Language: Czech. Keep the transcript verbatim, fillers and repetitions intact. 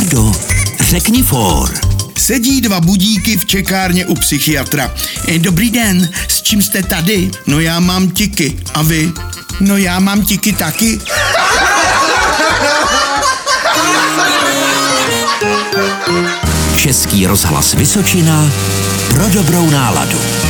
Fredo, řekni for. Sedí dva budíky v čekárně u psychiatra. E, dobrý den, s čím jste tady? No já mám tiky. A vy? No já mám tiky taky. Český rozhlas Vysočina pro dobrou náladu.